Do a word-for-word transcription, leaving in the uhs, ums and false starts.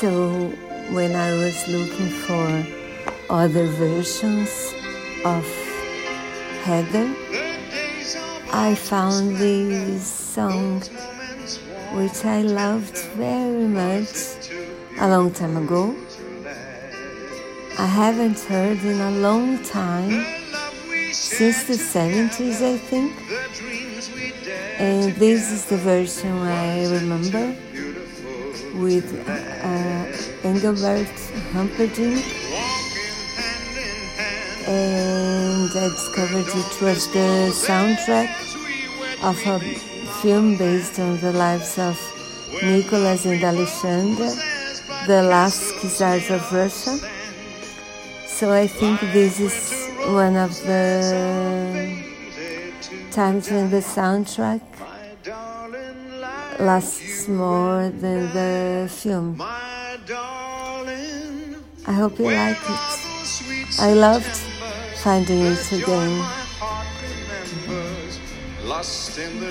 So when I was looking for other versions of Heather, I found this song which I loved very much a long time ago. I haven't heard in a long time, since the seventies I think, and this is the version I remember with uh, Engelbert Humperdinck, and I discovered it was the soundtrack of a film based on the lives of Nicholas and Alexander, the last Czars of Russia. So I think this is one of the times when the soundtrack lasts more than the film. I hope you like it. I loved finding it again.